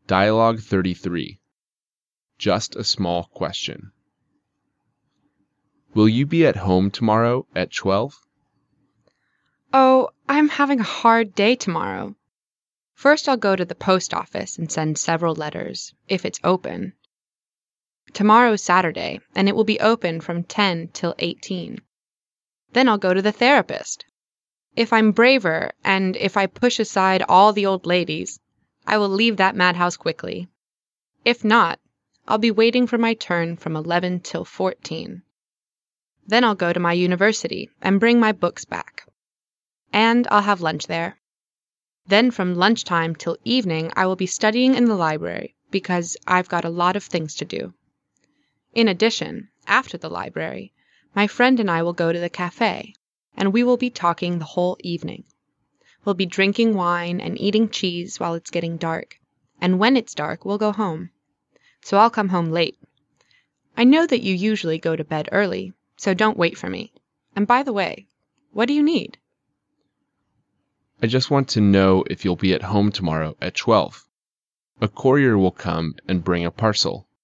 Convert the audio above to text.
Dialogue 33. Just a small question. Will you be at home tomorrow at 12? Oh, I'm having a hard day tomorrow. First, I'll go to the post office and send several letters, if it's open. Tomorrow's Saturday, and it will be open from 10 till 18. Then I'll go to the therapist. If I'm braver, and if I push aside all the old ladies, I will leave that madhouse quickly. If not, I'll be waiting for my turn from 11 till 14. Then I'll go to my university and bring my books back. And I'll have lunch there. Then from lunchtime till evening I will be studying in the library because I've got a lot of things to do. In addition, after the library, my friend and I will go to the cafe, and we will be talking the whole evening. We'll be drinking wine and eating cheese while it's getting dark, and when it's dark we'll go home. So I'll come home late. I know that you usually go to bed early, so don't wait for me. And by the way, what do you need? I just want to know if you'll be at home tomorrow at 12. A courier will come and bring a parcel.